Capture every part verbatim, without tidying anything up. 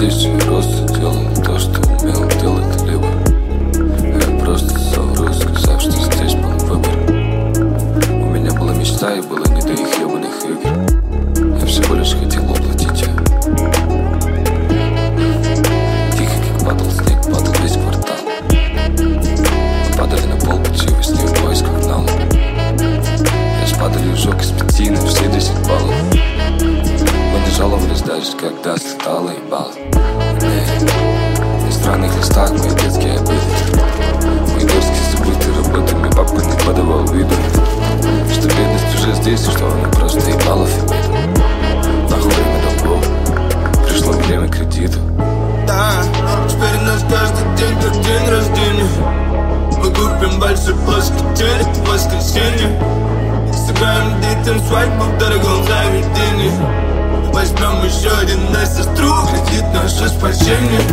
здесь я просто делал то, что умел делать либо. Я просто совру, сказав, что здесь был выбор. У меня была мечта и было не до их ебаных игр. Я всего лишь хотел уплатить ее. Тихо, как падал снег, падал весь квартал. Мы падали на пол, пути во сне в поисках нала. Я спадали ужок из пяти на все десять баллов. Мы не жаловались даже, когда слетало ебало. На странных листах мои детские обиды, мои дочки забыты работами, папа не подавал виду, что бедность уже здесь, и что она просто ебала фибиду. Нахуй время долгов, пришло время кредита. Да, теперь у нас каждый день как день рождения. Мы купим большой плоский телек в воскресенье. Сыграем детям свадьбу в дорогом заведении. Возьмем еще один на сестру, кредит наше спасение.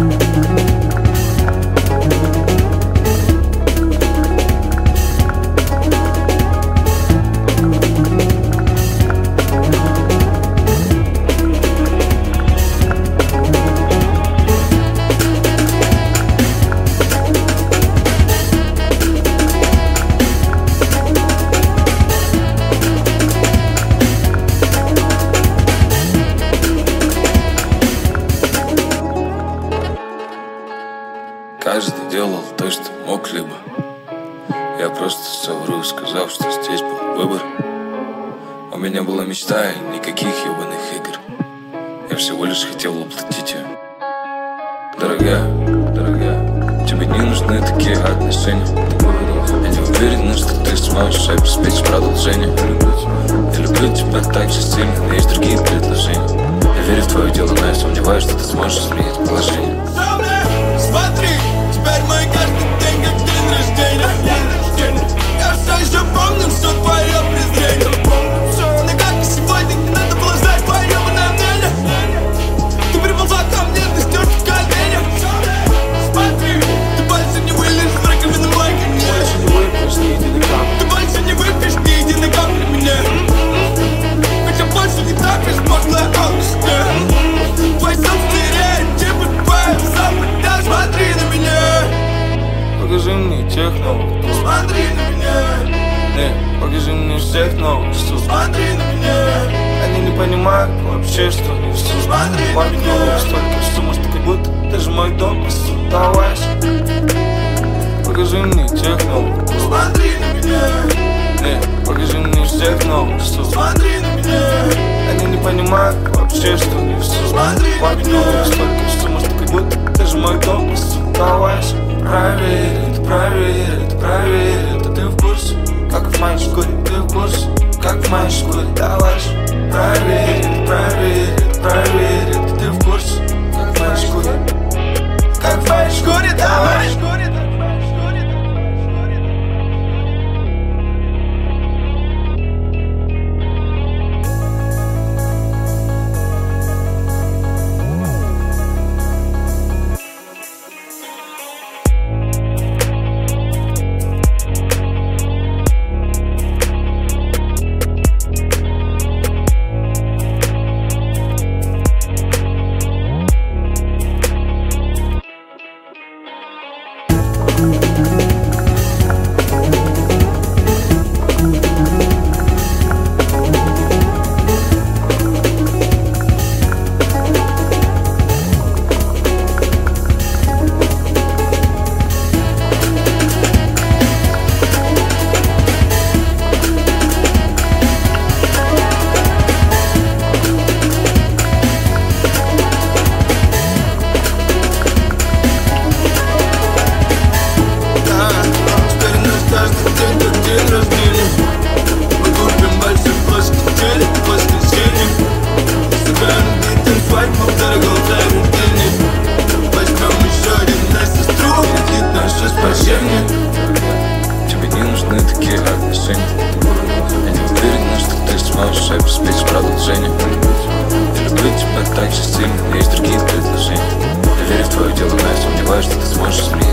Каждый делал то, что мог, либо я просто совру, сказав, что здесь был выбор. У меня была мечта и никаких ебаных игр. Я всего лишь хотел уплатить ее. Дорогая, дорогая, тебе не нужны такие отношения. Я не уверен, что ты сможешь обеспечить продолжение. Я люблю тебя так же сильно, но есть другие предложения. Я верю в твое дело, но я сомневаюсь, что ты сможешь изменить положение. Смотри, теперь мой каждый день как день рождения. Я все еще помню все твое презрение. Но как и сегодня не надо было знать твое ебаное мнение. Ты приползла ко мне, ты стёрт в коленях. Смотри, ты больше не вылезешь в раковину мой конец. Ты больше не выпьешь ни единой капли мне. Ведь я больше не так безмозглая алчная. Твой сон стереет, типа твоя запад. Смотри на меня. Покажи мне тех новых. Смотри на меня. Нет, покажи мне всех новых. Смотри на меня. Они не понимают вообще, что несу. Смотри на Мой меня. клуб столько сумм, что как будто даже мой дом просто давайся. Покажи мне тех новых. Смотри на меня. Нет, покажи мне всех новых. Смотри на меня. Они не понимают вообще, что несу. Смотри на Мой клуб меня. столько сумм, что как будто даже мой дом просто давайся. Проверь это, проверь это, проверь это. Ты в курсе, как в моей шкуре. Ты в курсе, как в моей шкуре. Давай же, проверь это, проверь это, проверь это. Ты в курсе, как в моей шкуре. Как в моей шкуре, давай. Тебе не нужны такие отношения. Я не уверен, что ты сможешь обеспечить продолжение. Я люблю тебя так же сильно, но есть другие предложения. Я верю в твое дело, но я сомневаюсь, что ты сможешь изменить